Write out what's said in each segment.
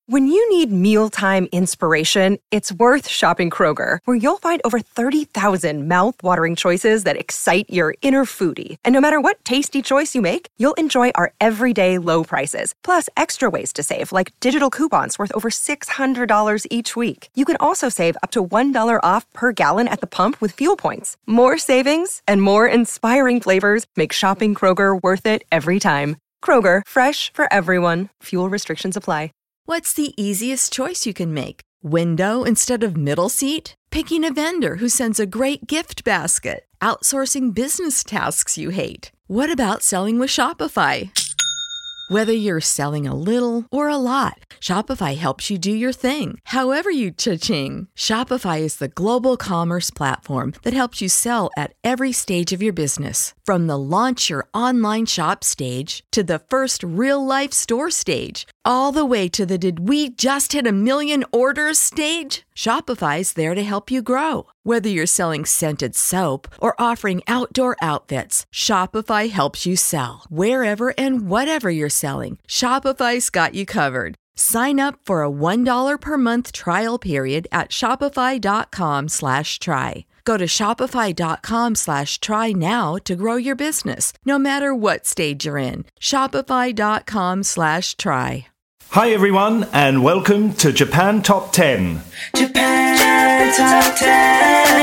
When you need mealtime inspiration, it's worth shopping Kroger, where you'll find over 30,000 mouth-watering choices that excite your inner foodie. And no matter what tasty choice you make, you'll enjoy our everyday low prices, plus extra ways to save, like digital coupons worth over $600 each week. You can also save up to $1 off per gallon at the pump with fuel points. More savings and more inspiring flavors make shopping Kroger worth it every time. Kroger, fresh for everyone. Fuel restrictions apply. What's the easiest choice you can make? Window instead of middle seat? Picking a vendor who sends a great gift basket? Outsourcing business tasks you hate? What about selling with Shopify? Whether you're selling a little or a lot, Shopify helps you do your thing, however you cha-ching. Shopify is the global commerce platform that helps you sell at every stage of your business. From the launch your online shop stage to the first real-life store stage, all the way to the did we just hit 1 million orders stage. Shopify's there to help you grow. Whether you're selling scented soap or offering outdoor outfits, Shopify helps you sell. Wherever and whatever you're selling, Shopify's got you covered. Sign up for a $1 per month trial period at shopify.com/try. Go to shopify.com/try now to grow your business, no matter what stage you're in. Shopify.com/try. Hi everyone, and welcome to Japan Top 10. Japan Top 10.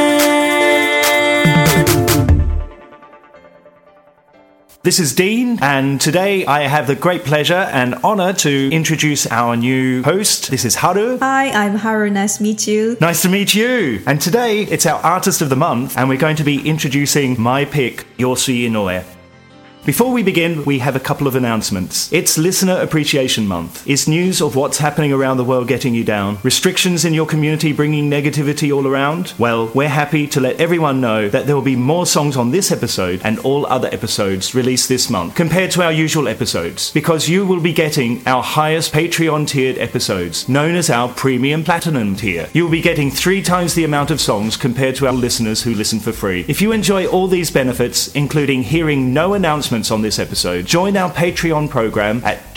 This is Dean, and today I have the great pleasure and honor to introduce our new host. This is Haru. Hi, I'm Haru. Nice to meet you. Nice to meet you. And today it's our Artist of the Month, and we're going to be introducing my pick, Yosui Inoue. Before we begin, we have a couple of announcements. It's Listener Appreciation Month. Is news of what's happening around the world getting you down? Restrictions in your community bringing negativity all around? Well, we're happy to let everyone know that there will be more songs on this episode and all other episodes released this month compared to our usual episodes, because you will be getting our highest Patreon tiered episodes, known as our Premium Platinum tier. You will be getting 3 times the amount of songs compared to our listeners who listen for free. If you enjoy all these benefits, including hearing no announcements on this episode, join our Patreon program at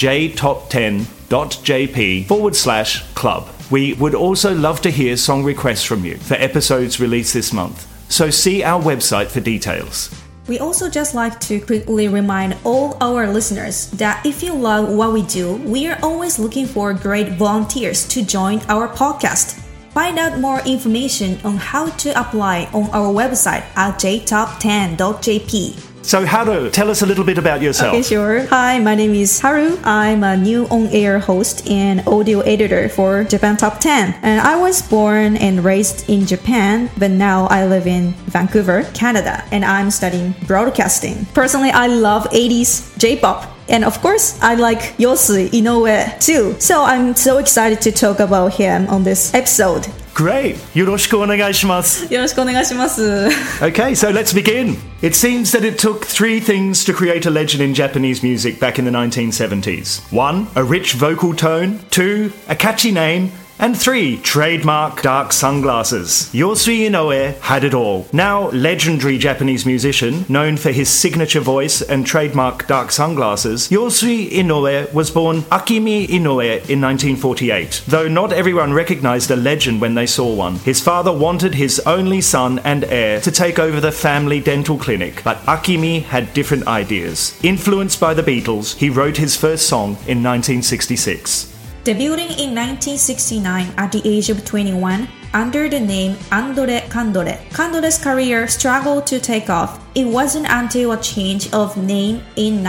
jtop10.jp/club. We would also love to hear song requests from you for episodes released this month, so see our website for details. We also just like to quickly remind all our listeners that if you love what we do, we are always looking for great volunteers to join our podcast. Find out more information on how to apply on our website at jtop10.jp. So Haru, tell us a little bit about yourself. Okay, sure. Hi, my name is Haru. I'm a new on-air host and audio editor for Japan Top 10. And I was born and raised in Japan, but now I live in Vancouver, Canada, and I'm studying broadcasting. Personally, I love 80s J-pop. And of course, I like Yosui Inoue too. So I'm so excited to talk about him on this episode. Great! よろしくお願いします。 よろしくお願いします。 Okay, so let's begin. It seems that it took 3 things to create a legend in Japanese music back in the 1970s. 1, a rich vocal tone. 2, a catchy name. And 3, trademark dark sunglasses. Yosui Inoue had it all. Now legendary Japanese musician, known for his signature voice and trademark dark sunglasses, Yosui Inoue was born Akimi Inoue in 1948. Though not everyone recognized a legend when they saw one. His father wanted his only son and heir to take over the family dental clinic, but Akimi had different ideas. Influenced by the Beatles, he wrote his first song in 1966. Debuting in 1969 at the age of 21 under the name Andore Kandore, Kandore's career struggled to take off. It wasn't until a change of name in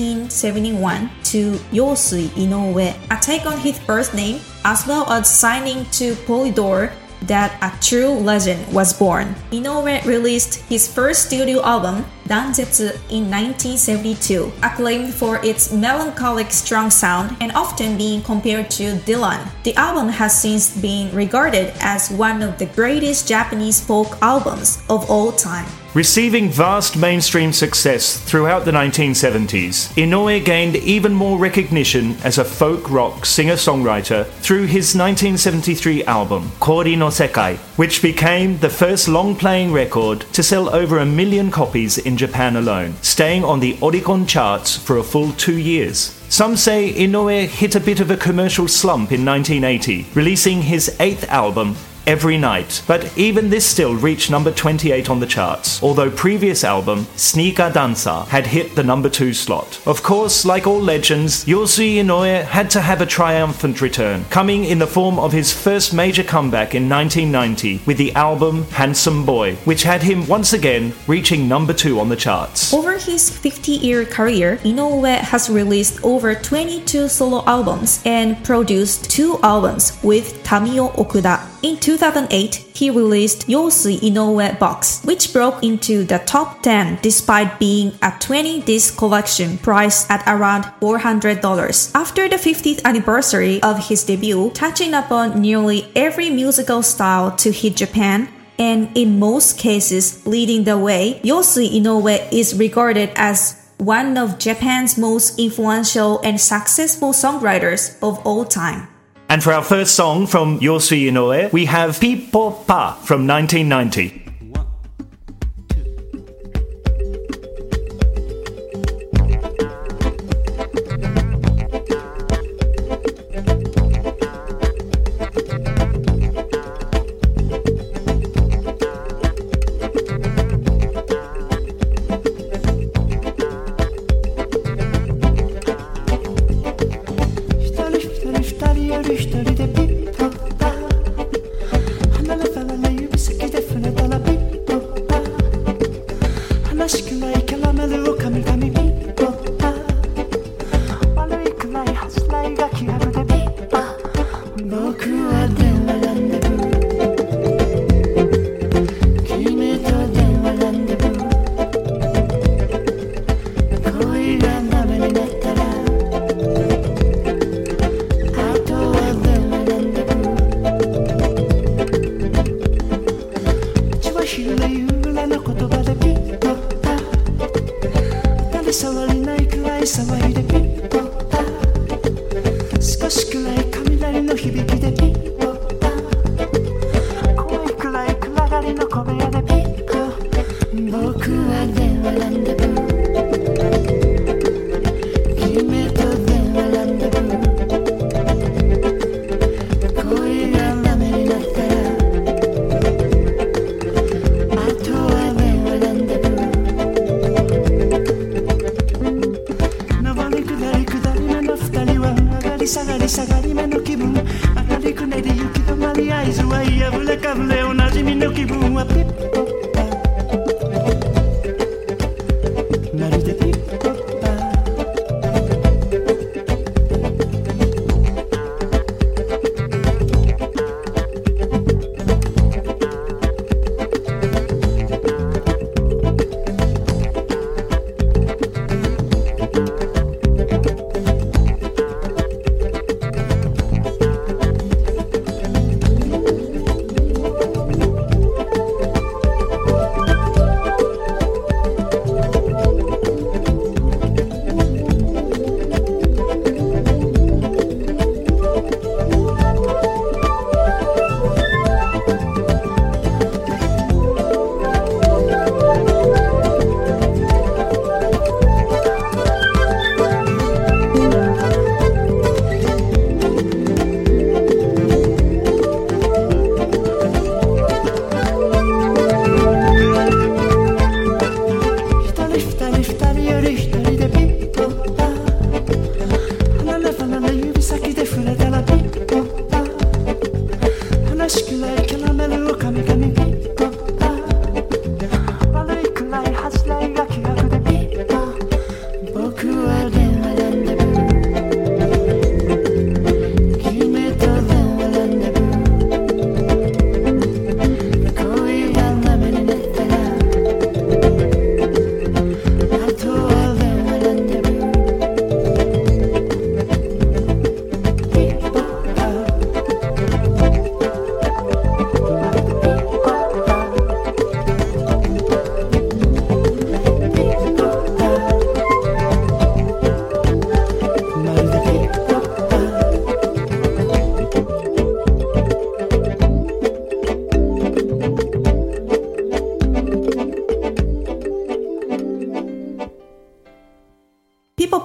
1971 to Yosui Inoue, a take on his birth name, as well as signing to Polydor, that a true legend was born. Inoue released his first studio album, Danzetsu, in 1972, acclaimed for its melancholic strong sound and often being compared to Dylan. The album has since been regarded as one of the greatest Japanese folk albums of all time. Receiving vast mainstream success throughout the 1970s, Inoue gained even more recognition as a folk rock singer-songwriter through his 1973 album, Kori no Sekai, which became the first long-playing record to sell over 1 million copies in Japan alone, staying on the Oricon charts for a full 2 years. Some say Inoue hit a bit of a commercial slump in 1980, releasing his 8th album, Every Night, but even this still reached number 28 on the charts, although previous album, Sneaker Dancer, had hit the number 2 slot. Of course, like all legends, Yosui Inoue had to have a triumphant return, coming in the form of his first major comeback in 1990 with the album Handsome Boy, which had him once again reaching number 2 on the charts. Over his 50-year career, Inoue has released over 22 solo albums and produced 2 albums with Tamio Okuda. In 2008, he released Yosui Inoue Box, which broke into the top 10 despite being a 20-disc collection priced at around $400. After the 50th anniversary of his debut, touching upon nearly every musical style to hit Japan, and in most cases leading the way, Yosui Inoue is regarded as one of Japan's most influential and successful songwriters of all time. And for our first song from Yosui Inoue, we have Pippo Pa from 1990.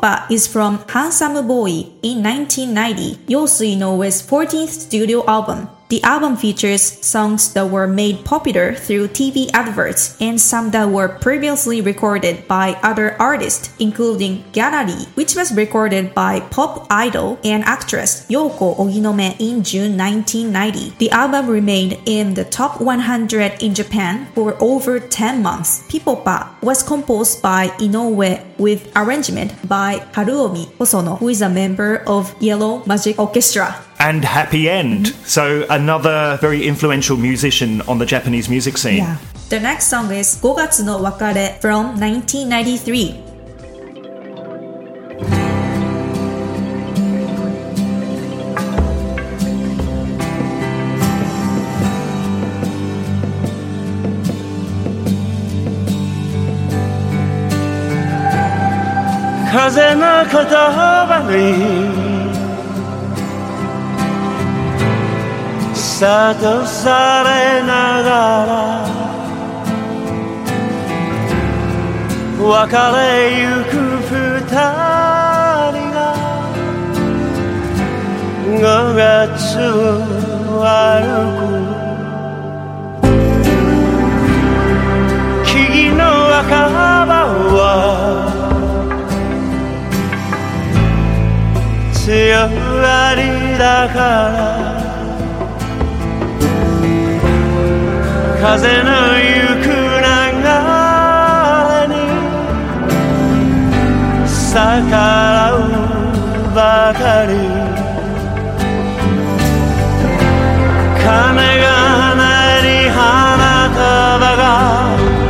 Pipoppa is from Handsome Boy in 1990, Yosu Inoue's 14th studio album. The album features songs that were made popular through TV adverts and some that were previously recorded by other artists, including Gallery, which was recorded by pop idol and actress Yoko Oginome in June 1990. The album remained in the top 100 in Japan for over 10 months. Pipoppa was composed by Inoue with arrangement by Haruomi Hosono, who is a member of Yellow Magic Orchestra. And Happy End. So another very influential musician on the Japanese music scene. Yeah. The next song is 5月の別れ from 1993. Kaze no kotoba ni Sato sare nagara Wakare yuku futari ga 5月を歩く木々の赤葉は強がりだから風の行く流れに逆らうばかり鐘が鳴り花束が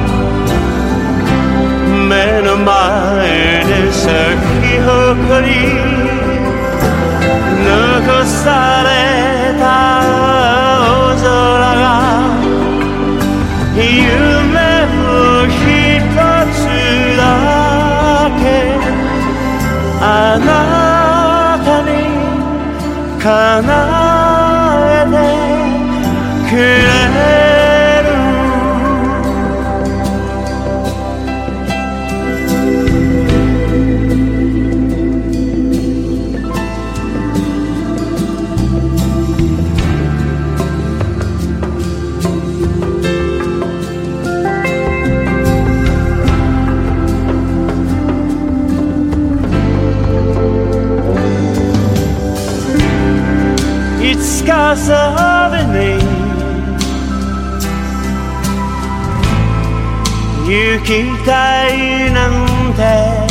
目の前で咲き誇り残された青空が夢を一つだけあなたに叶えてくれるいつか遊びに行きたいなんて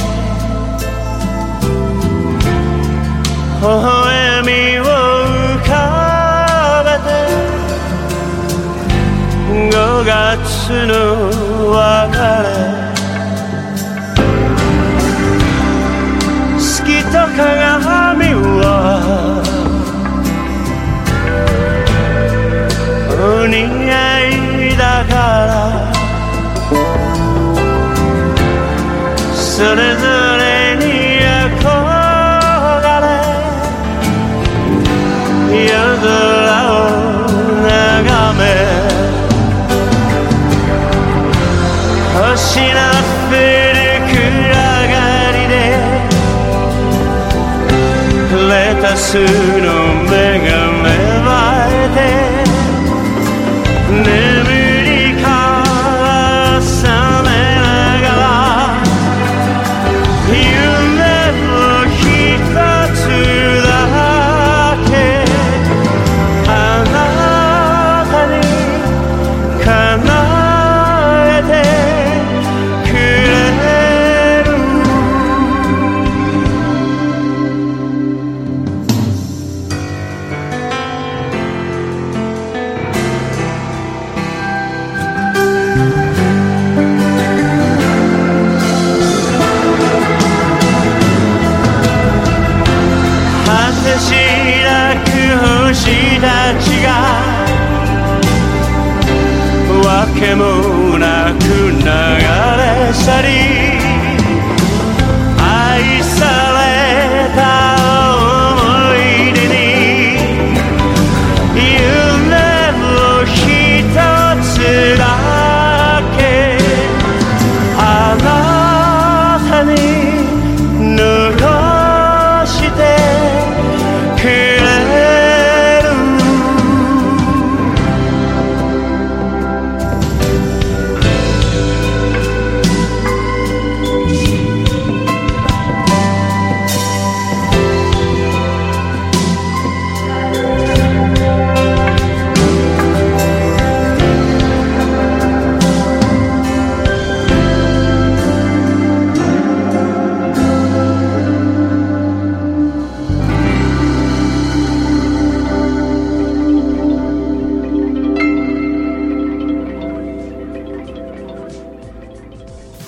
微笑みを浮かべて5月の別れ月と鏡はお似合いだからそれぞれに憧れ夜空を眺め星の降る暗がりでレタスの芽が芽生えて眠りから覚めながら夢を一つだけあなたに叶えてくれる果てしなく星たちがわけもなく流れ去り愛された思い出に夢を一つだけあなたに乗る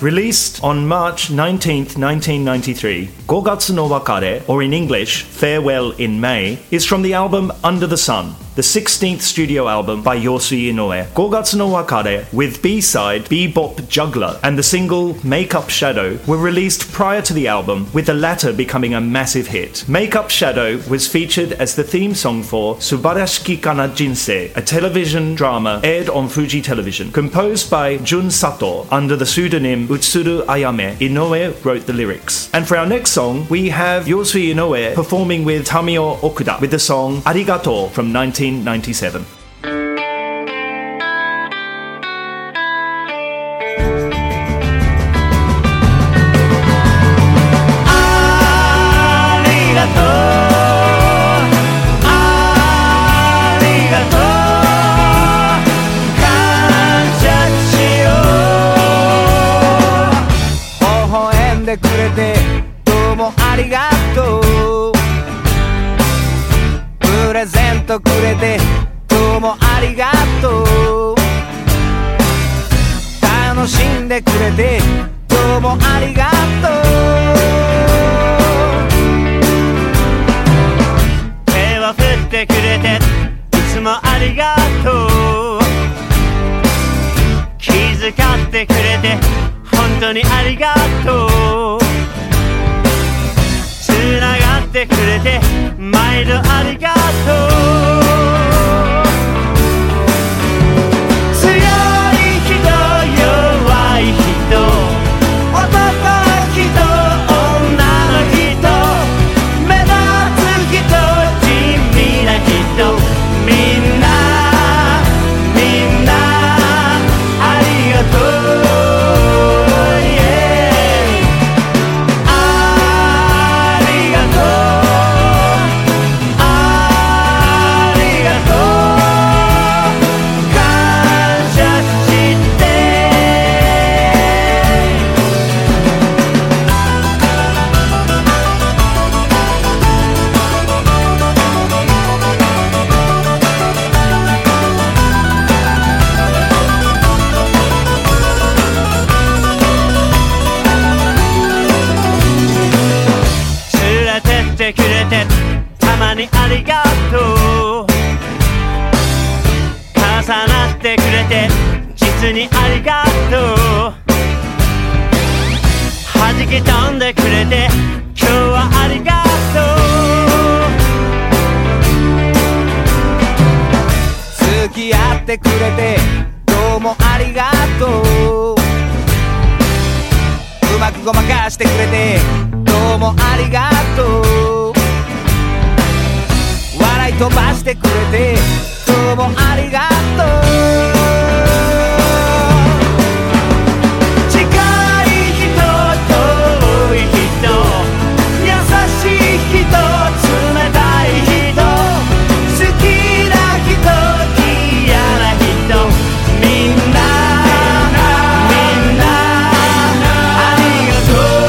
Released on March 19th, 1993, 5月の別れ, or in English, Farewell in May, is from the album Under the Sun, the 16th studio album by Yosui Inoue. 5月の別れ with B-side Bebop Juggler and the single Make Up Shadow were released prior to the album, with the latter becoming a massive hit. Make Up Shadow was featured as the theme song for Subarashiki Kana Jinsei, a television drama aired on Fuji Television. Composed by Jun Sato under the pseudonym Utsuru Ayame, Inoue wrote the lyrics. And for our next song, we have Yosui Inoue performing with Tamio Okuda with the song Arigato from 1997. くれてどうもありがとう楽しんでくれてどうもありがとう手を振ってくれていつもありがとう気遣ってくれて本当にありがとうつながってくれて毎度ありがとう強い人弱い人男の人女の人目立つ人地味な人みんなありがとうありがとう重なってくれて実にありがとう弾き飛んでくれて今日はありがとう付き合ってくれてどうもありがとううまくごまかしてくれてどうもありがとう笑い飛ばしてくれてどうもありがとう近い人遠い人優しい人冷たい人好きな人嫌な人みんなありがとう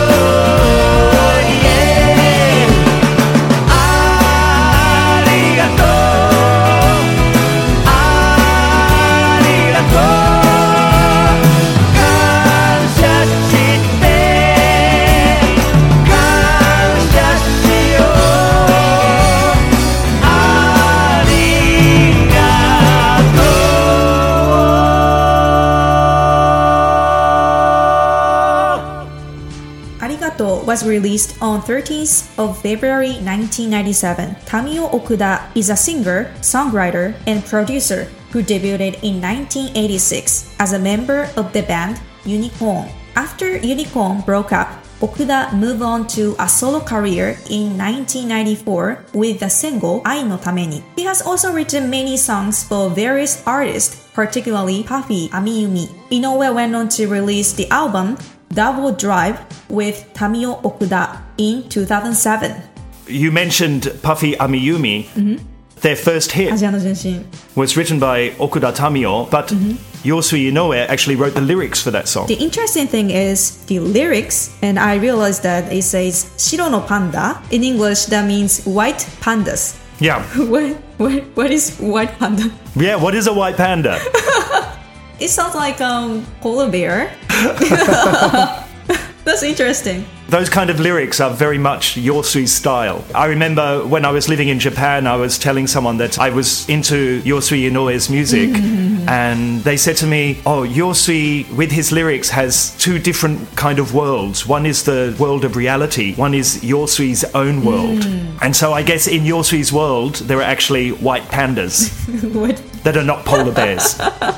was released on 13th of February 1997. Tamio Okuda is a singer, songwriter, and producer who debuted in 1986 as a member of the band Unicorn. After Unicorn broke up, Okuda moved on to a solo career in 1994 with the single Ai no Tameni. He has also written many songs for various artists, particularly Puffy Amiyumi. Inoue went on to release the album Double Drive with Tamio Okuda in 2007. You mentioned Puffy Amiyumi. Mm-hmm. Their first hit was written by Okuda Tamio, but Yosui Inoue actually wrote the lyrics for that song. The interesting thing is the lyrics, and I realized that it says Shiro no panda. In English, that means white pandas. Yeah. What is white panda? Yeah, what is a white panda? It sounds like polar bear. That's interesting. Those kind of lyrics are very much Yosui's style. I remember when I was living in Japan, I was telling someone that I was into Yosui Inoue's music, and they said to me, oh, Yosui, with his lyrics, has two different kind of worlds. One is the world of reality, one is Yosui's own world. And so I guess in Yosui's world, there are actually white pandas that are not polar bears.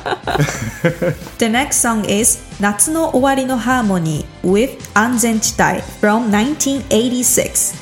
The next song is 夏の終わりのハーモニー with 安全地帯 from 1986.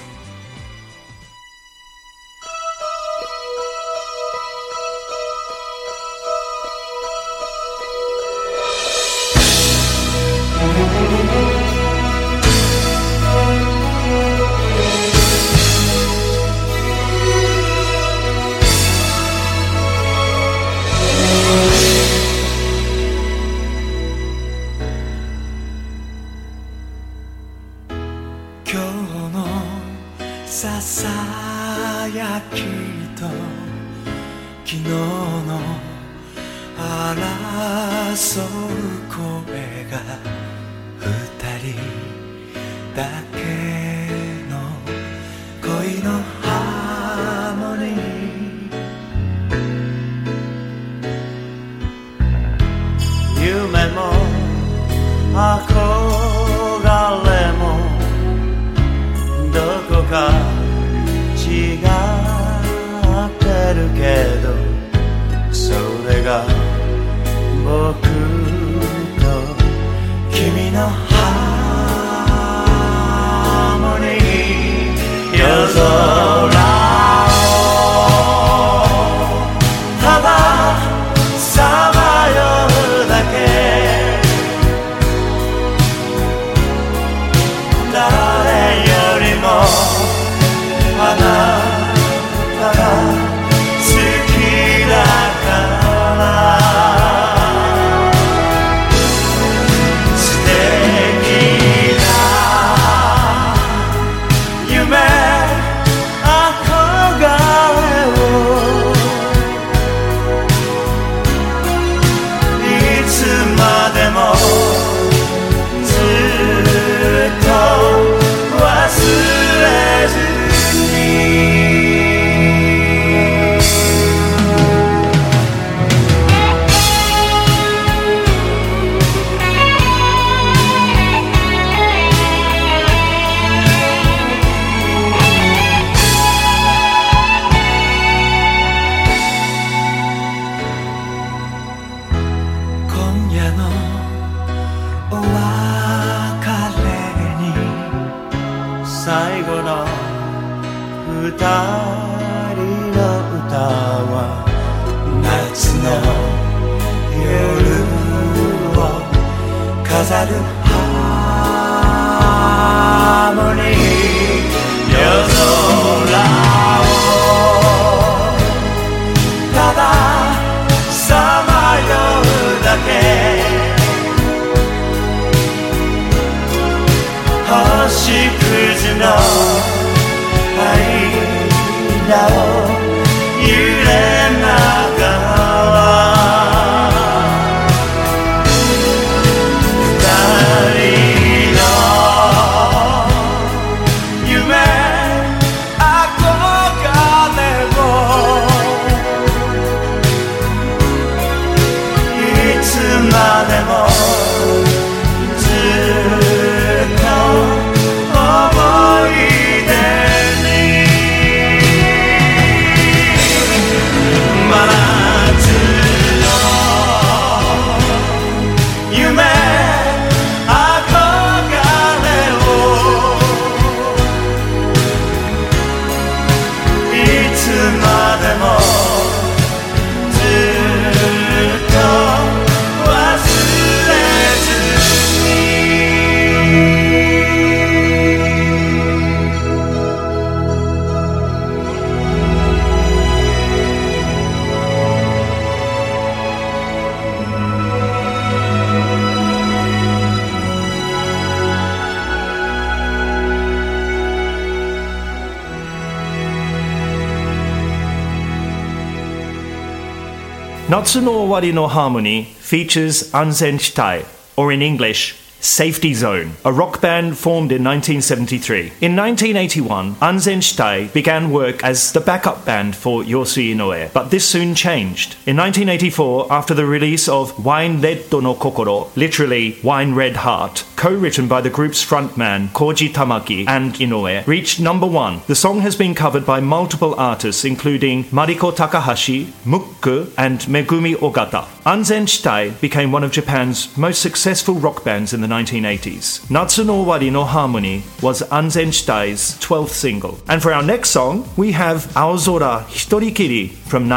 Natsu no Owari no Harmony features Anzen Shitai, or in English, Safety Zone, a rock band formed in 1973. In 1981, Anzen Shitai began work as the backup band for Yosui Inoue, but this soon changed. In 1984, after the release of Wine Red no Kokoro, literally Wine Red Heart, co-written by the group's frontman Koji Tamaki and Inoue, reached number 1. The song has been covered by multiple artists including Mariko Takahashi, Mukku, and Megumi Ogata. Anzen Shitai became one of Japan's most successful rock bands in the 1980s. Natsu no Owari no Harmony was Anzen Shitai's 12th single. And for our next song, we have Aozora Hitorikiri from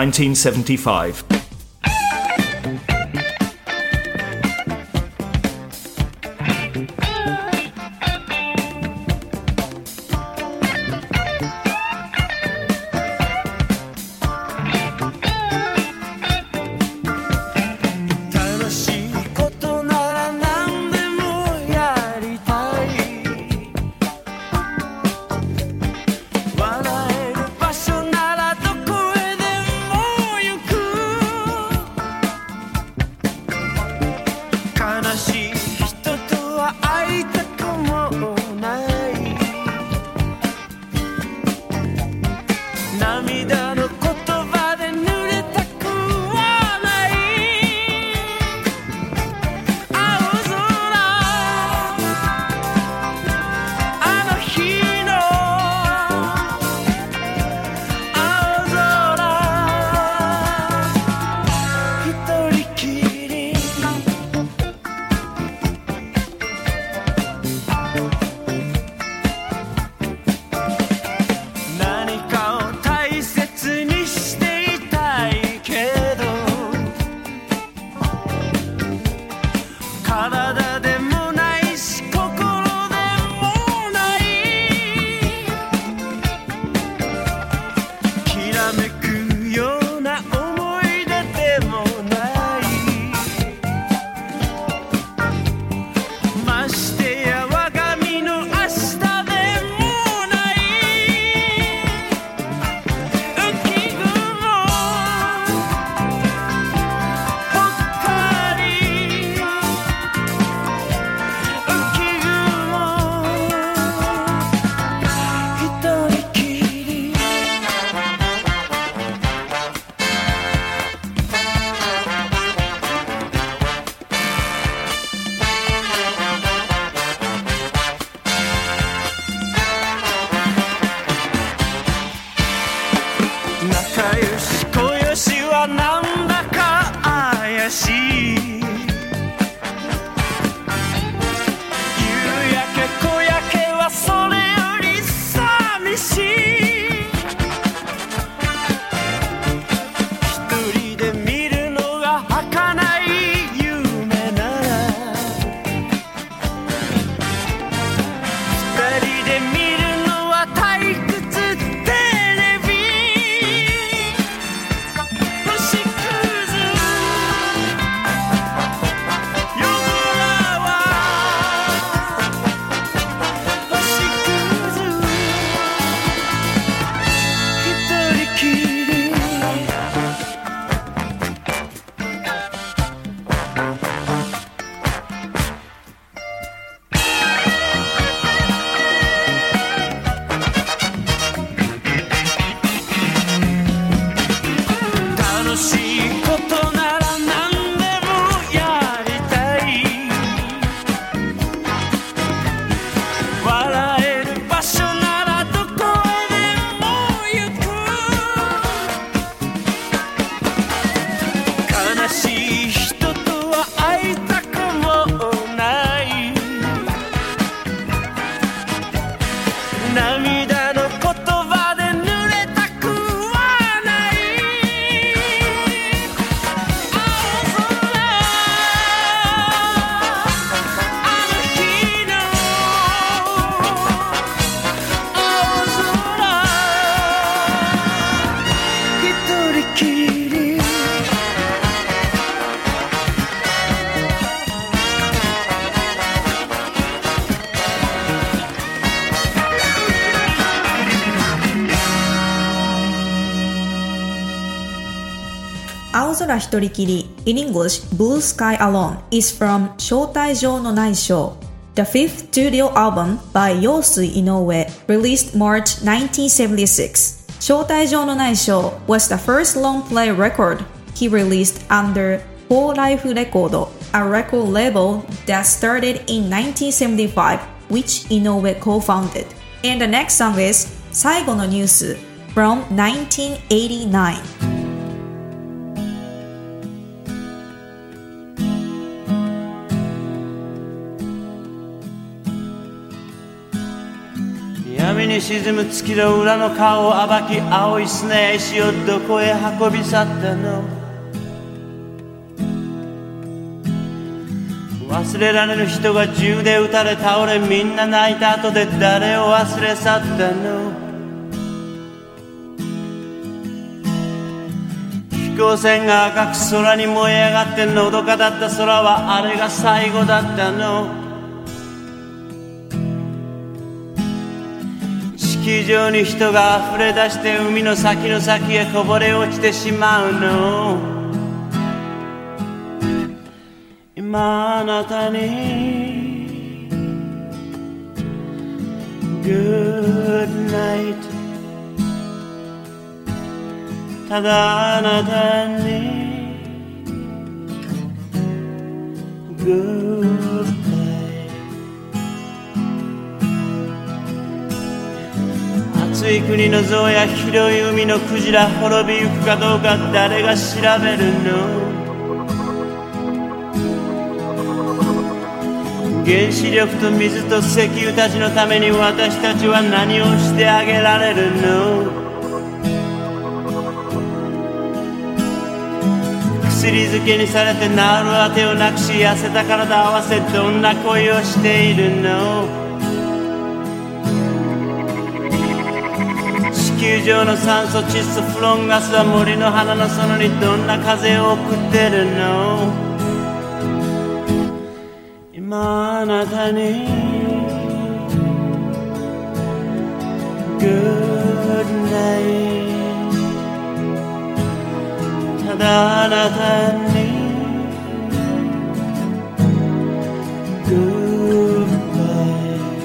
1975. 「 青空一人きり in English Blue Sky Alone is from 招待状のないショー The fifth studio album by Yosui Inoue released March 1976. 招待状のないショー was the first long-play record he released under Four Life Record, a record label that started in 1975, which Inoue co-founded. And the next song is 最後のニュース from 1989. 闇に沈む月の裏の顔を暴き青い砂や石をどこへ運び去ったの忘れられぬ人が銃で撃たれ倒れみんな泣いた後で誰を忘れ去ったの飛行船が赤く空に燃え上がってのどかだった空はあれが最後だったの地球上に人が溢れ出して海の先の先へこぼれ落ちてしまうの今あなたに Good night ただあなたに Goodbye暑い国の象や広い海のクジラ滅びゆくかどうか誰が調べるの原子力と水と石油たちのために私たちは何をしてあげられるの薬漬けにされて治るあてをなくし痩せた体合わせどんな恋をしているの地球上の酸素窒素フロンガスは森の花の園にどんな風を送ってるの今あなたに Good night ただあなたに Goodbye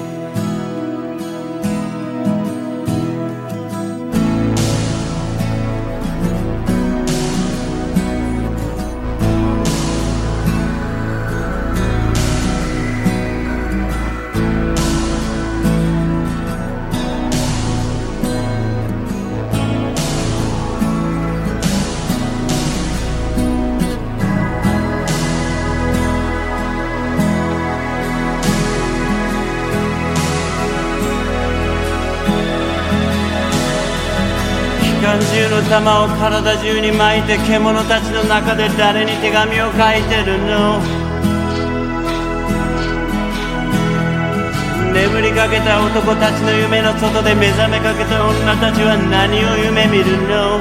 機関銃の弾を体中に巻いて獣たちの中で誰に手紙を書いてるの眠りかけた男たちの夢の外で目覚めかけた女たちは何を夢見るの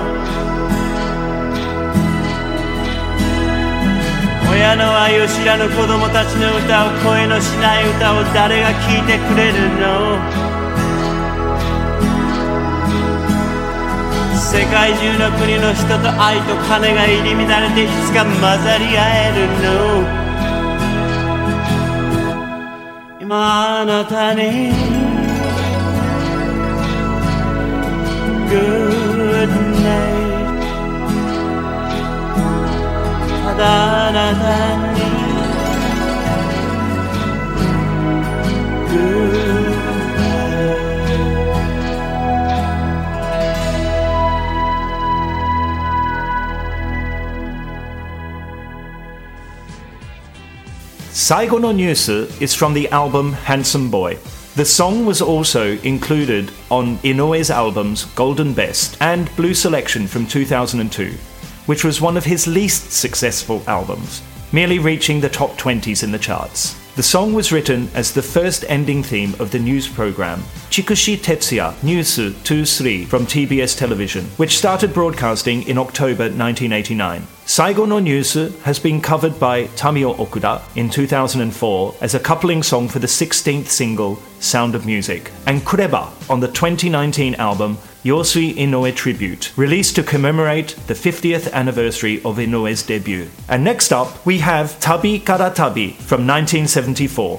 親の愛を知らぬ子供たちの歌を声のしない歌を誰が聴いてくれるの世界中の国の人と愛と金が入り乱れていつか混ざり合えるの今あなたに Good night ただあなたに Good Saigo no Nyusu is from the album Handsome Boy. The song was also included on Inoue's albums Golden Best and Blue Selection from 2002, which was one of his least successful albums, merely reaching the top 20s in the charts. The song was written as the first ending theme of the news program Chikushi Tetsuya News 23 from TBS Television, which started broadcasting in October 1989. Saigo no Nyusu has been covered by Tamio Okuda in 2004 as a coupling song for the 16th single Sound of Music, and Kureba on the 2019 album Yosui Inoue Tribute, released to commemorate the 50th anniversary of Inoue's debut. And next up, we have Tabi Kara Tabi from 1974.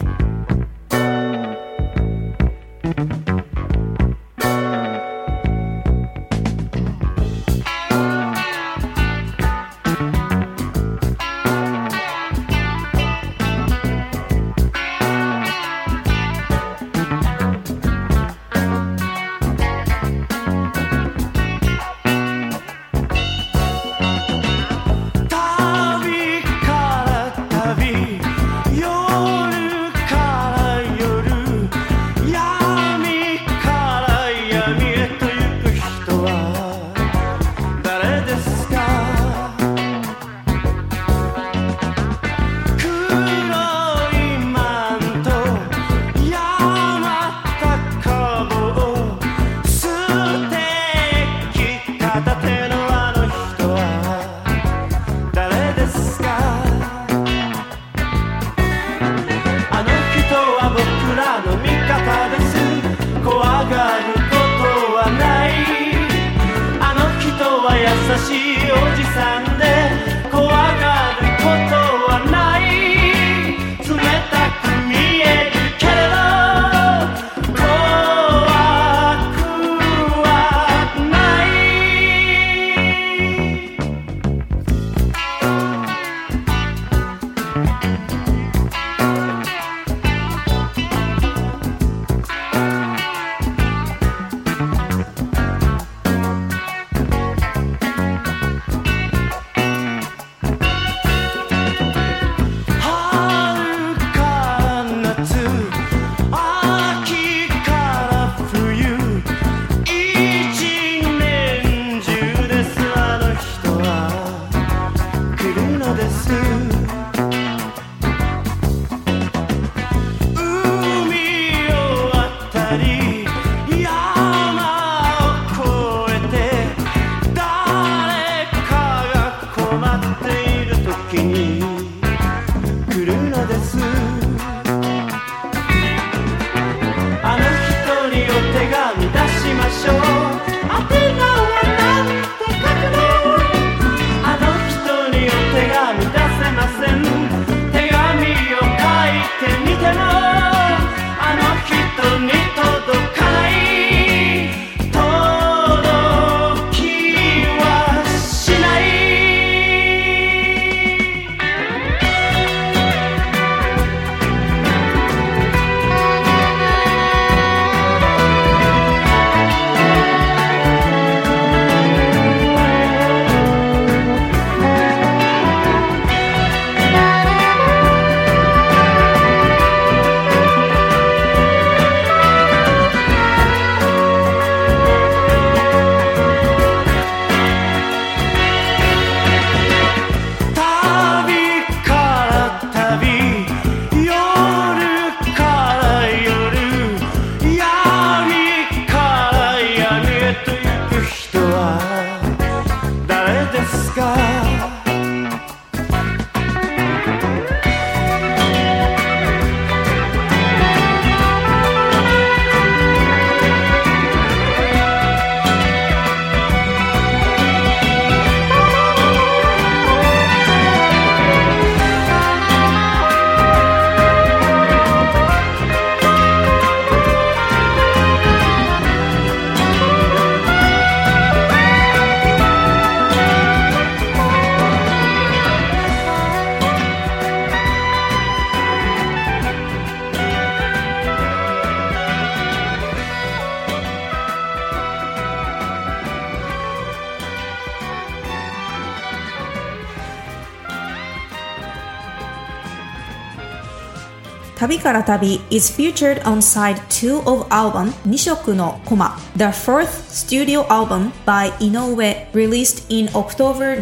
Tabi Kara Tabi is featured on side 2 of album Nishoku no Koma, the fourth studio album by Inoue released in October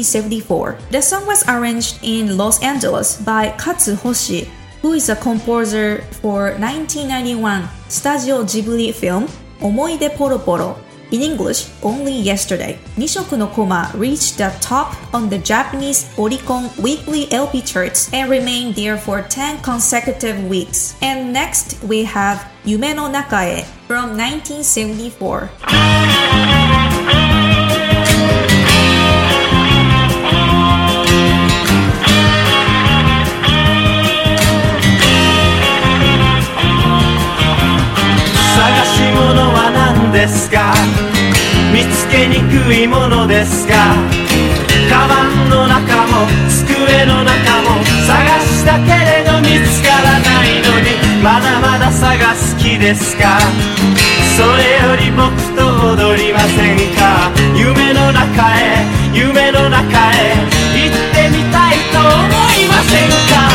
1974. The song was arranged in Los Angeles by Katsu Hoshi, who is a composer for 1991 Studio Ghibli film Omoide Poro Poro, in English, Only Yesterday. Nishoku no Koma reached the top on the Japanese Oricon weekly LP charts and remained there for 10 consecutive weeks. And next we have Yume no Nakae from 1974. 憎いものですか。カバンの中も机の中も探したけれど見つからないのに、まだまだ探す気ですか。それより僕と踊りませんか。夢の中へ夢の中へ行ってみたいと思いませんか。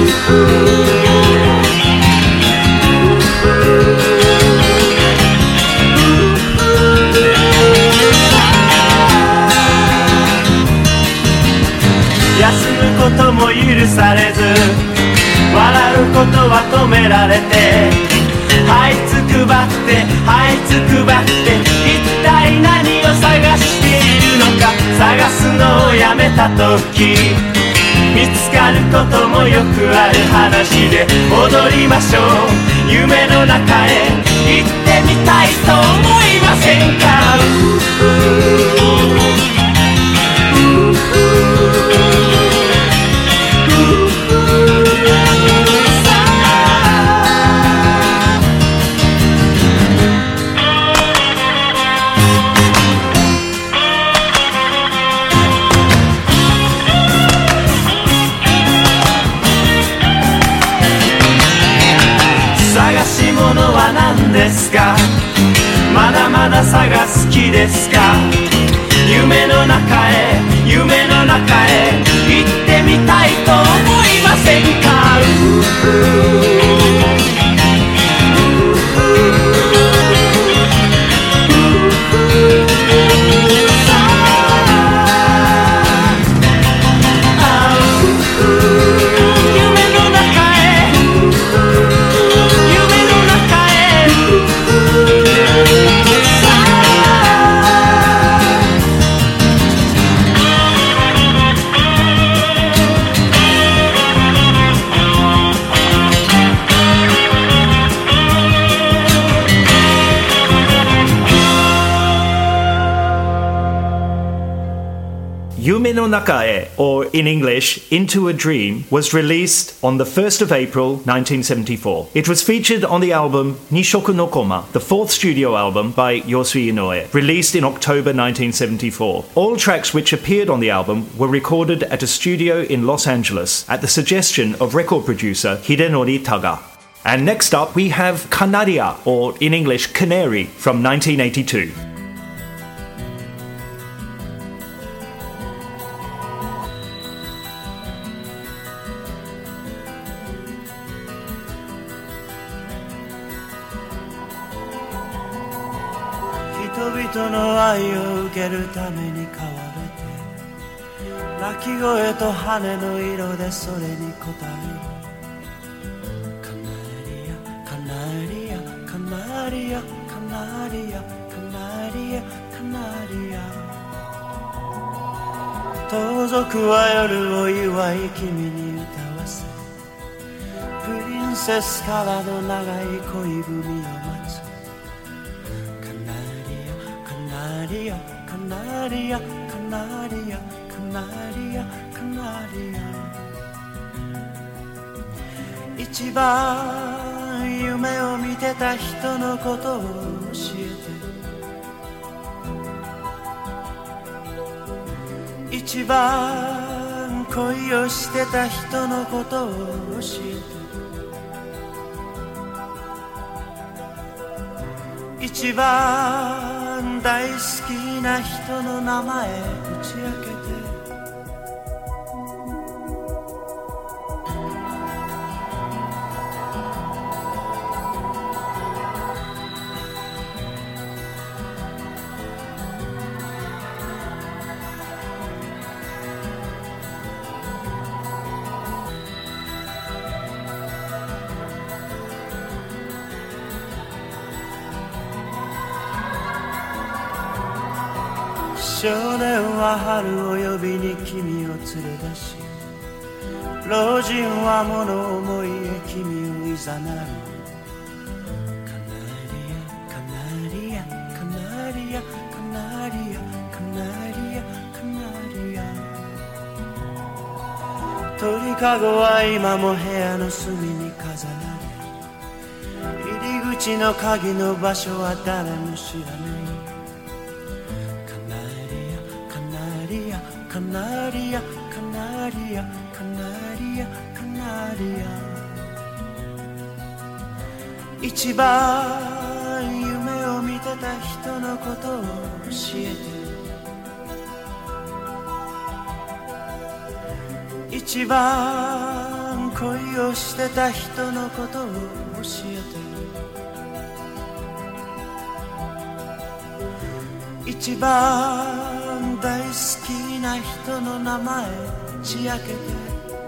休むことも許されず、笑うことは止められて、這いつくばって這いつくばって、一体何を探しているのか。探すのをやめた時、見つかることもよくある話で、踊りましょう夢の中へ行ってみたいと思いませんか。探し物は何ですか。まだまだ探す気ですか。夢の中へ夢の中へ行ってみたいと思いませんか。 Yume no Nakae, or in English, Into a Dream, was released on the 1st of April 1974. It was featured on the album Nishoku no Koma, the fourth studio album by Yosui Inoue, released in October 1974. All tracks which appeared on the album were recorded at a studio in Los Angeles at the suggestion of record producer Hidenori Taga. And next up we have Canaria, or in English, Canary, from 1982. 人々の愛を受けるために飼われて、鳴き声と羽の色でそれに応える。カナリアカナリアカナリアカナリアカナリア。盗賊は夜を祝い君に歌わせ、プリンセスからの長い恋文を待つ。カナリアカナリアカナリアカナリア。一番夢を見てた人のことを教えて、一番恋をしてた人のことを教えて、一番大好きな人の名前打ち明けて。少年は春を呼びに君を連れ出し、老人は物思いへ君をいざなう。カナリアカナリアカナリアカナリアカナリア。鳥かごは今も部屋の隅に飾られ、入り口の鍵の場所は誰も知らない。カナカナリアカナリアカナリアカナリア一番夢を見てた人のことを教えて一番恋をしてた人のことを教えて一番大好きな人の名前ちやけて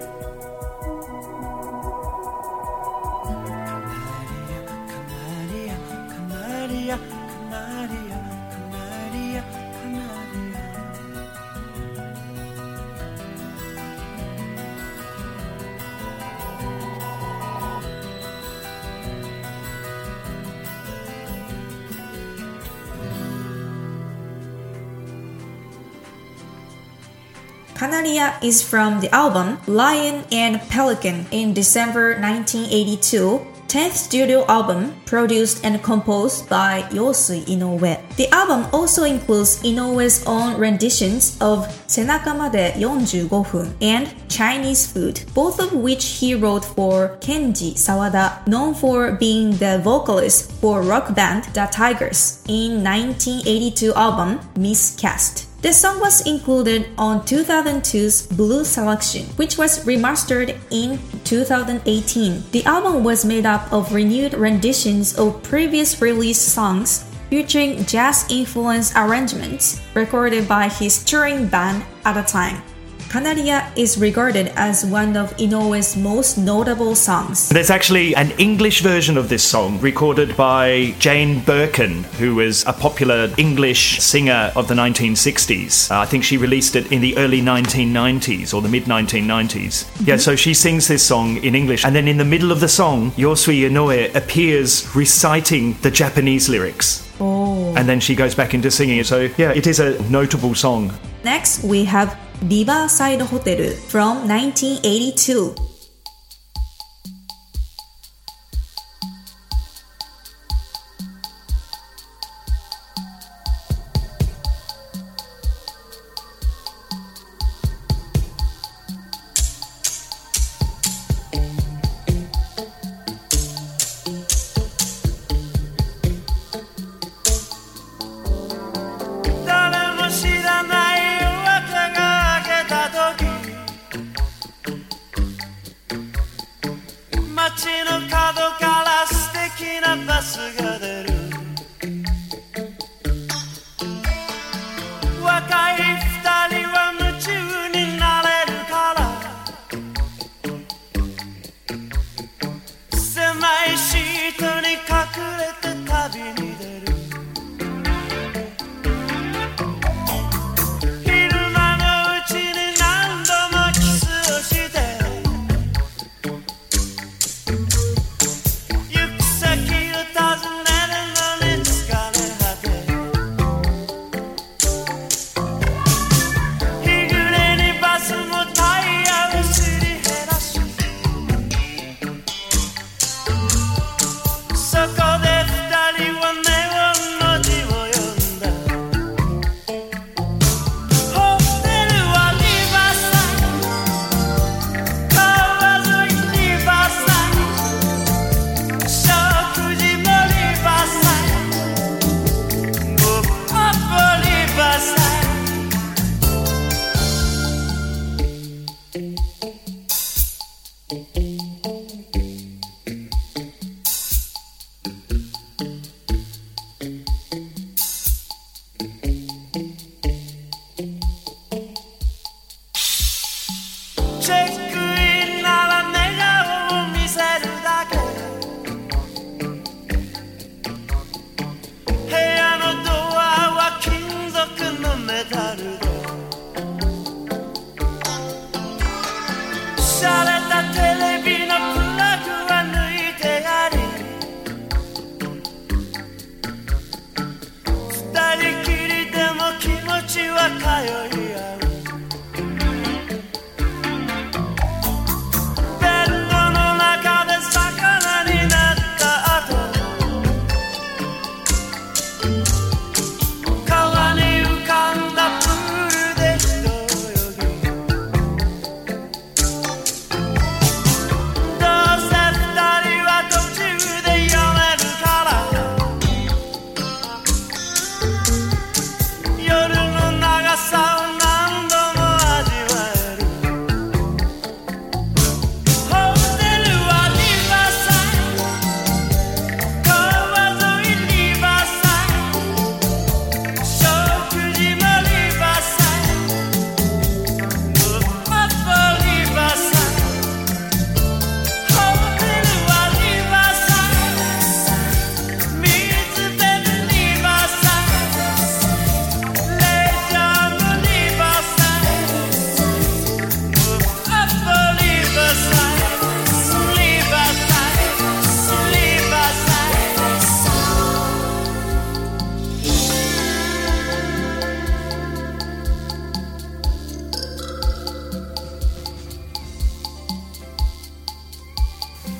Canaria is from the album Lion and Pelican in December 1982, 10th studio album produced and composed by Yosui Inoue. The album also includes Inoue's own renditions of 背中まで45分 and Chinese Food, both of which he wrote for Kenji Sawada, known for being the vocalist for rock band The Tigers, in 1982 album Miscast. The song was included on 2002's Blue Selection, which was remastered in 2018. The album was made up of renewed renditions of previous released songs featuring jazz-influenced arrangements recorded by his touring band at the time. Canaria is regarded as one of Inoue's most notable songs. There's actually an English version of this song recorded by Jane Birkin, who was a popular English singer of the 1960s. I think she released it in the early 1990s or the mid-1990s. Yeah, so she sings this song in English, and then in the middle of the song, Yosui Inoue appears reciting the Japanese lyrics. Oh. And then she goes back into singing it. So yeah, it is a notable song. Next, we have Riverside Hotel from 1982.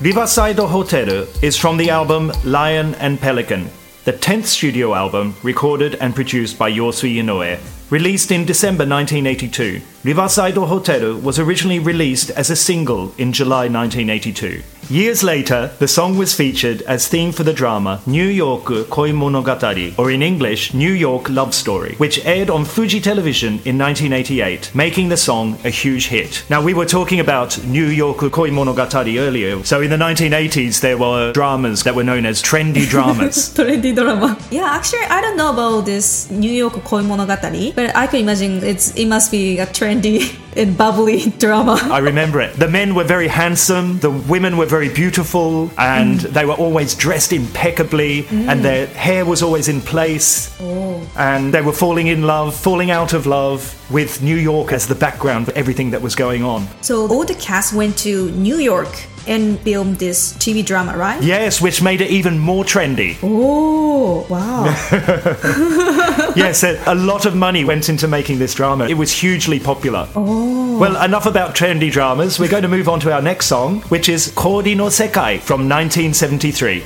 Riverside Hotel is from the album Lion and Pelican, the 10th studio album recorded and produced by Yosui Inoue. Released in December 1982, Riverside Hotel was originally released as a single in July 1982. Years later, the song was featured as theme for the drama New York Koi Monogatari, or in English, New York Love Story, which aired on Fuji Television in 1988, making the song a huge hit. Now, we were talking about New York Koi Monogatari earlier, so in the 1980s there were dramas that were known as trendy dramas. Trendy drama. Yeah, actually, I don't know about this New York Koi Monogatari, but I can imagine it must be a trendy and bubbly drama. I remember it. The men were very handsome, the women were very beautiful, and they were always dressed impeccably, and their hair was always in place. And they were falling in love, falling out of love, with New York as the background for everything that was going on. So all the cast went to New York and filmed this TV drama, right? Yes, which made it even more trendy. Oh, wow. Yes, a lot of money went into making this drama. It was hugely popular. Oh. Well, enough about trendy dramas. We're going to move on to our next song, which is Kori no Sekai from 1973.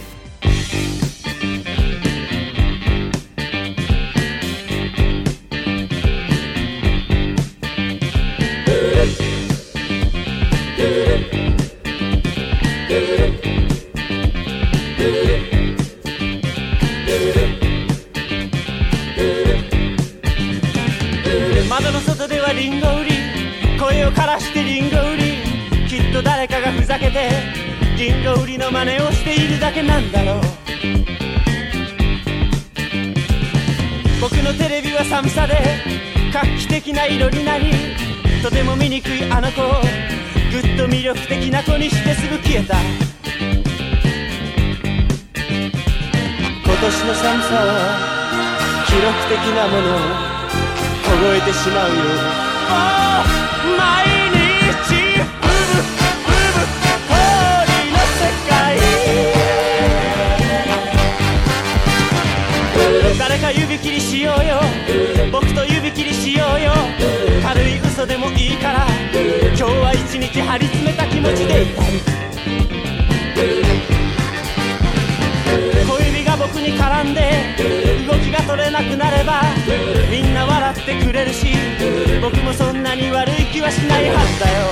窓の外ではリンゴ売り、声を枯らしてリンゴ売り、きっと誰かがふざけてリンゴ売りの真似をしているだけなんだろう。僕のテレビは寒さで画期的な色になり、とても醜いあの子をぐっと魅力的な子にしてすぐ消えた。今年の寒さは記録的なものを凍えてしまうよ。毎日ブブブブ氷の世界。誰か指切りしようよ、僕と指切りしようよ。軽い嘘でもいいから今日は一日張り詰めた気持ちでいたい。小指が僕に絡んで動きが取れなくなればみんな笑ってくれるし、僕もそんなに悪い気はしないはずだよ。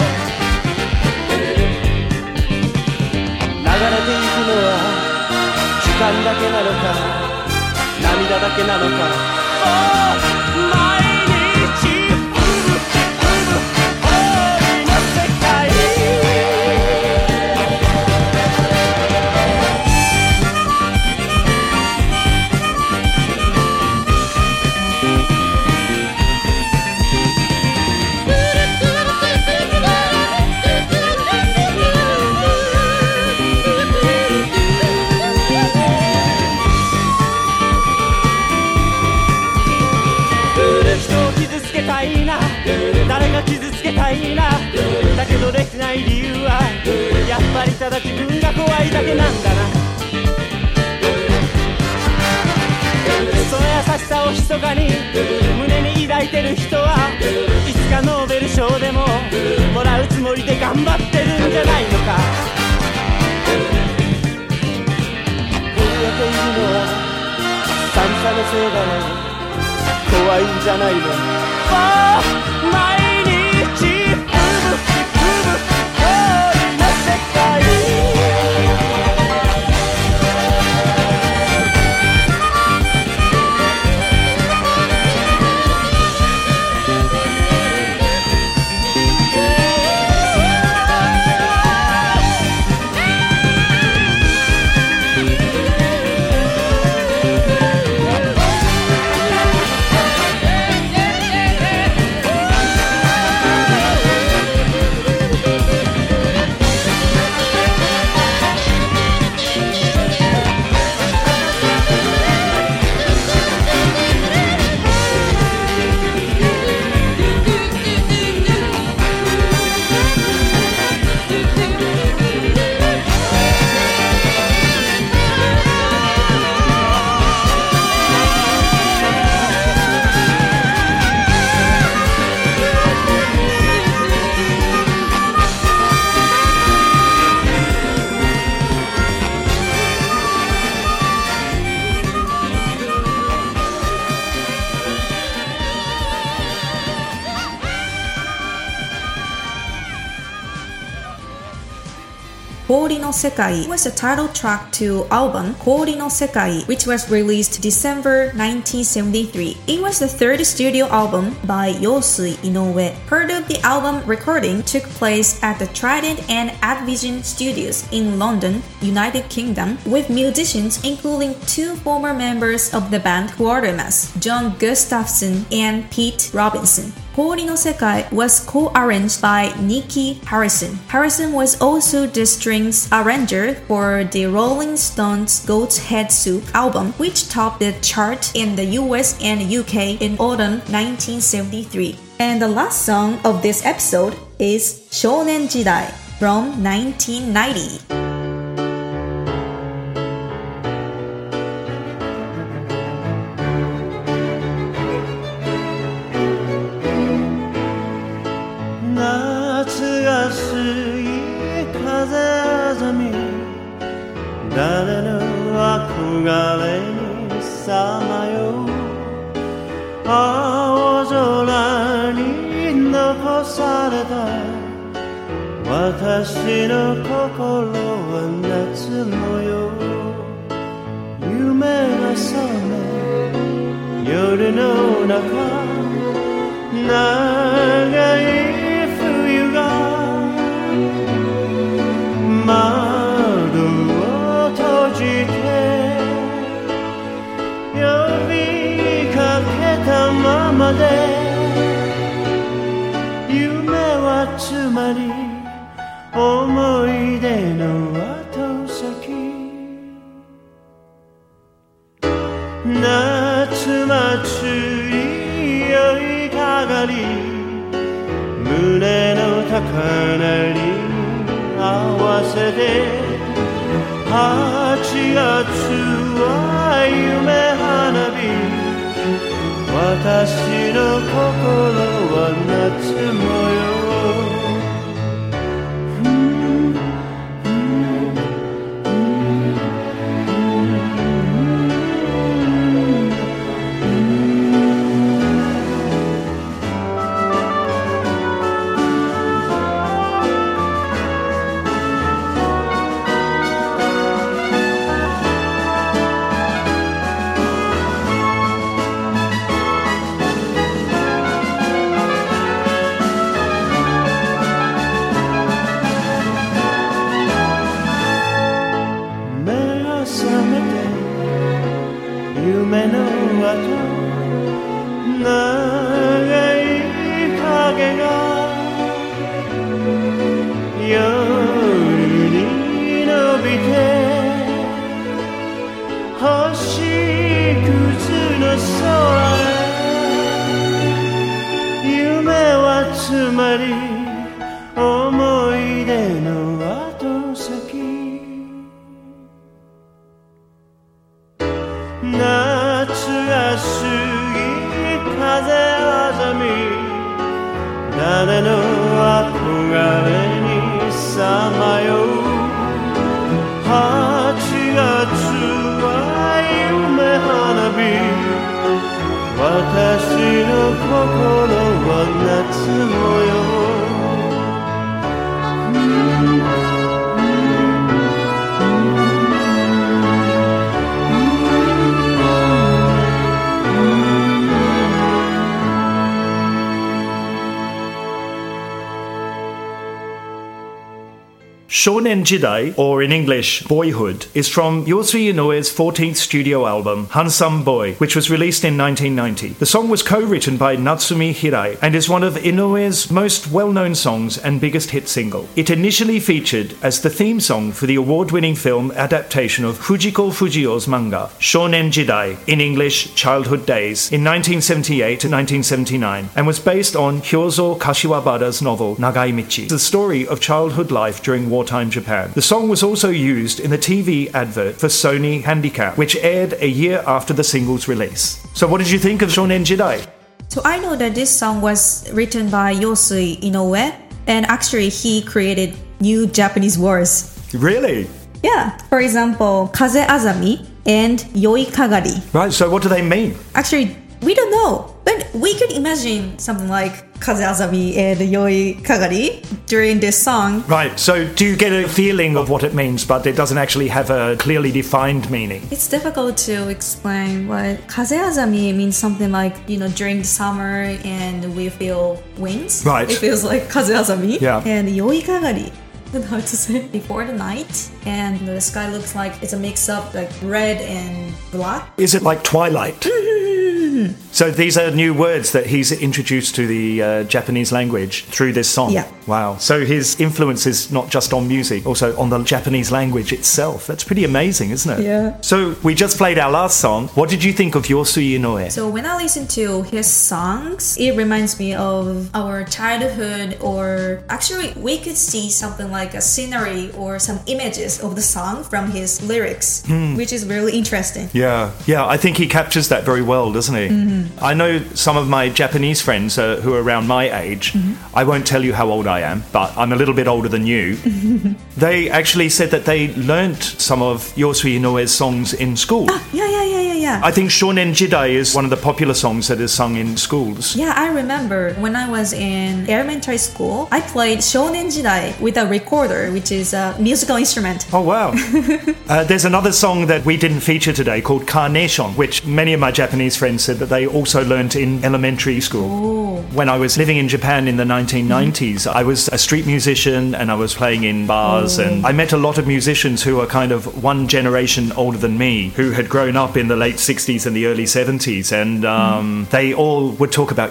流れていくのは時間だけなのか涙だけなのか。毎日ブブブブ氷の世界。誰が傷つけたいな。だけどできない理由はやっぱりただ自分が怖いだけなんだな。その優しさを密かに胸に抱いてる人はいつかノーベル賞でももらうつもりで頑張ってるんじゃないのか。震えているのは寒さのせいだね。怖いんじゃないの。毎日ブブブブ氷の世界。 Kori no Sekai was the title track to album Kori no Sekai, which was released December 1973. It was the third studio album by Yosui Inoue. Part of the album recording took place at the Trident and Advision Studios in London, United Kingdom, with musicians including two former members of the band Quatermass, John Gustafson and Pete Robinson. Kori no Sekai was co-arranged by Nicky Harrison. Harrison was also the strings arranger for the Rolling Stones' Goat's Head Soup album, which topped the chart in the US and UK in autumn 1973. And the last song of this episode is Shounen Jidai from 1990. Shounen Jidai, or in English, Boyhood, is from Yosui Inoue's 14th studio album, Handsome Boy, which was released in 1990. The song was co-written by Natsumi Hirai and is one of Inoue's most well-known songs and biggest hit single. It initially featured as the theme song for the award-winning film adaptation of Fujiko Fujio's manga, Shounen Jidai, in English, Childhood Days, in 1978 to 1979, and was based on Hyozo Kashiwabara's novel Nagai Michi, the story of childhood life during wartime Japan. The song was also used in the TV advert for Sony Handicap, which aired a year after the single's release. So what did you think of Shounen Jidai? So I know that this song was written by Yosui Inoue, and actually he created new Japanese words. Really? Yeah. For example, Kaze Azami and Yoi Kagari. Right, so what do they mean? Actually, we don't know. But we could imagine something like Kazeazami and Yoi Kagari during this song. Right, so do you get a feeling of what it means, but it doesn't actually have a clearly defined meaning? It's difficult to explain, but Kazeazami means something like, during the summer and we feel winds. Right. It feels like Kazeazami. Yeah. And Yoi Kagari. Hard to say. Before the night, and the sky looks like it's a mix up like red and black. Is it like twilight? So these are new words that he's introduced to the Japanese language through this song. Yeah. Wow. So his influence is not just on music, also on the Japanese language itself. That's pretty amazing, isn't it? Yeah. So we just played our last song. What did you think of Yosui Inoue? So when I listen to his songs, it reminds me of our childhood, or actually we could see something like a scenery or some images of the song from his lyrics, which is really interesting. Yeah, I think he captures that very well, doesn't he? I know some of my Japanese friends who are around my age. I won't tell you how old I am, but I'm a little bit older than you. They actually said that they learnt some of Yosui Inoue's songs in school. Yeah. I think Shonen Jidai is one of the popular songs that is sung in schools. Yeah, I remember when I was in elementary school, I played Shonen Jidai with a recorder, which is a musical instrument. Oh, wow. There's another song that we didn't feature today called Carnation, which many of my Japanese friends said that they also learnt in elementary school. Oh. When I was living in Japan in the 1990s, I was a street musician and I was playing in bars, and I met a lot of musicians who were kind of one generation older than me, who had grown up in the late 60s and the early 70s, and they all would talk about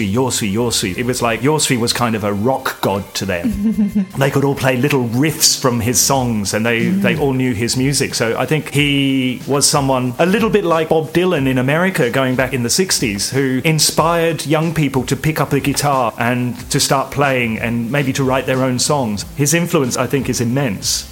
Yosui. It was like Yosui was kind of a rock god to them. They could all play little riffs from his songs, and they all knew his music. So I think he was someone a little bit like Bob Dylan in America going back in the 60s, who inspired young people to pick up the guitar and to start playing and maybe to write their own songs. His influence, I think, is immense.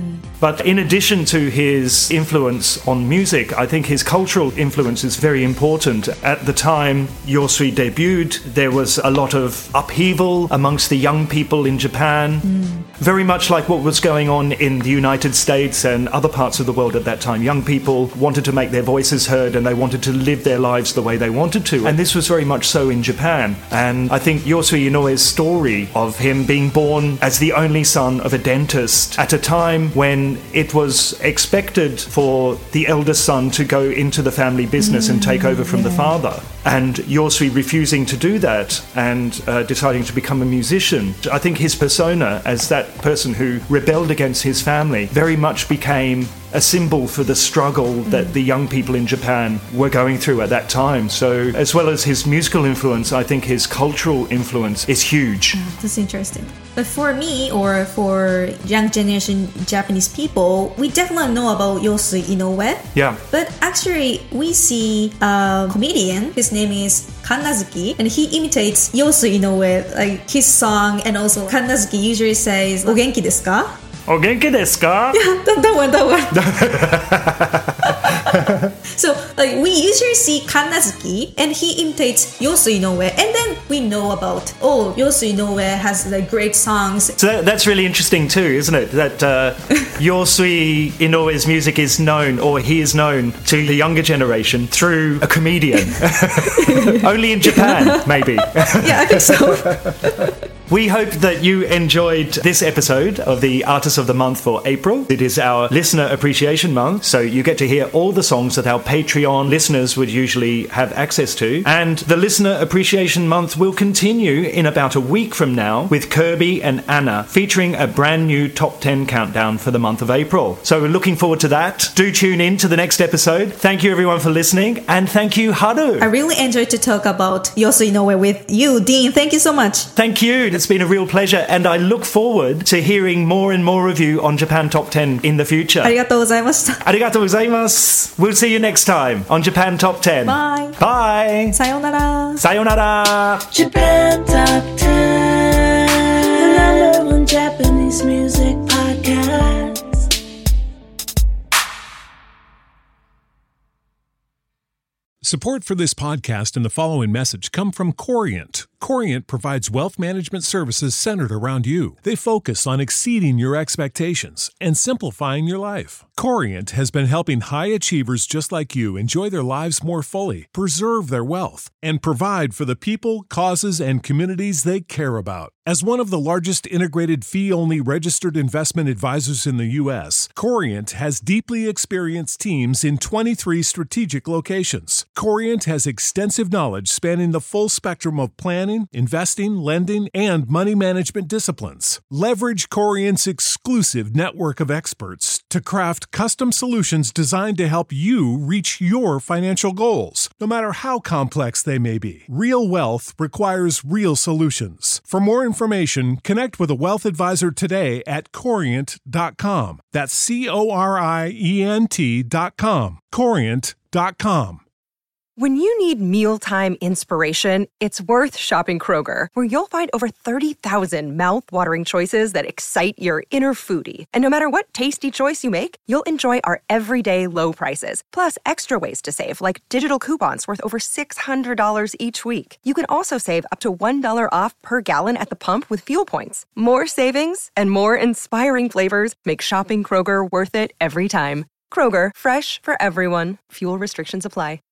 But in addition to his influence on music, I think his cultural influence is very important. At the time Yosui debuted, there was a lot of upheaval amongst the young people in Japan, very much like what was going on in the United States and other parts of the world at that time. Young people wanted to make their voices heard and they wanted to live their lives the way they wanted to. And this was very much so in Japan. And I think Yosui Inoue's story of him being born as the only son of a dentist at a time when it was expected for the eldest son to go into the family business and take over from the father, and Yosui refusing to do that and deciding to become a musician. I think his persona as that person who rebelled against his family very much became a symbol for the struggle that the young people in Japan were going through at that time. So as well as his musical influence, I think his cultural influence is huge. That's interesting. But for me, or for young generation Japanese people, we definitely know about Yosui Inoue. Yeah. But actually, we see a comedian, his name is Kannazuki, and he imitates Yosui Inoue, like his song, and also Kannazuki usually says, "O genki desu ka?" O genki desu ka? Yeah, that one. So, like, we usually see Kannazuki, and he imitates Yosui Inoue, and then we know about, Yosui Inoue has like great songs. So that's really interesting too, isn't it? That Yosui Inoue's music is known, or he is known to the younger generation through a comedian. Only in Japan, maybe. Yeah, I think so. We hope that you enjoyed this episode of the Artist of the Month for April. It is our Listener Appreciation Month, so you get to hear all the songs that our Patreon listeners would usually have access to. And the Listener Appreciation Month will continue in about a week from now with Kirby and Anna featuring a brand new Top 10 countdown for the month of April. So we're looking forward to that. Do tune in to the next episode. Thank you everyone for listening, and thank you, Haru. I really enjoyed to talk about Yosui Inoue with you, Dean. Thank you so much. Thank you. It's been a real pleasure, and I look forward to hearing more and more of you on Japan Top 10 in the future. ありがとうございました。 ありがとうございます. We'll see you next time on Japan Top 10. Bye. Bye. さようなら。 さようなら. Japan Top 10, the number one Japanese music podcast. Support for this podcast and the following message come from Corient. Corient provides wealth management services centered around you. They focus on exceeding your expectations and simplifying your life. Corient has been helping high achievers just like you enjoy their lives more fully, preserve their wealth, and provide for the people, causes, and communities they care about. As one of the largest integrated fee-only registered investment advisors in the U.S., Corient has deeply experienced teams in 23 strategic locations. Corient has extensive knowledge spanning the full spectrum of planning, investing, lending, and money management disciplines. Leverage Corient's exclusive network of experts to craft custom solutions designed to help you reach your financial goals, no matter how complex they may be. Real wealth requires real solutions. For more information, connect with a wealth advisor today at Corient.com. That's Corient.com. Corient.com. When you need mealtime inspiration, it's worth shopping Kroger, where you'll find over 30,000 mouth-watering choices that excite your inner foodie. And no matter what tasty choice you make, you'll enjoy our everyday low prices, plus extra ways to save, like digital coupons worth over $600 each week. You can also save up to $1 off per gallon at the pump with fuel points. More savings and more inspiring flavors make shopping Kroger worth it every time. Kroger, fresh for everyone. Fuel restrictions apply.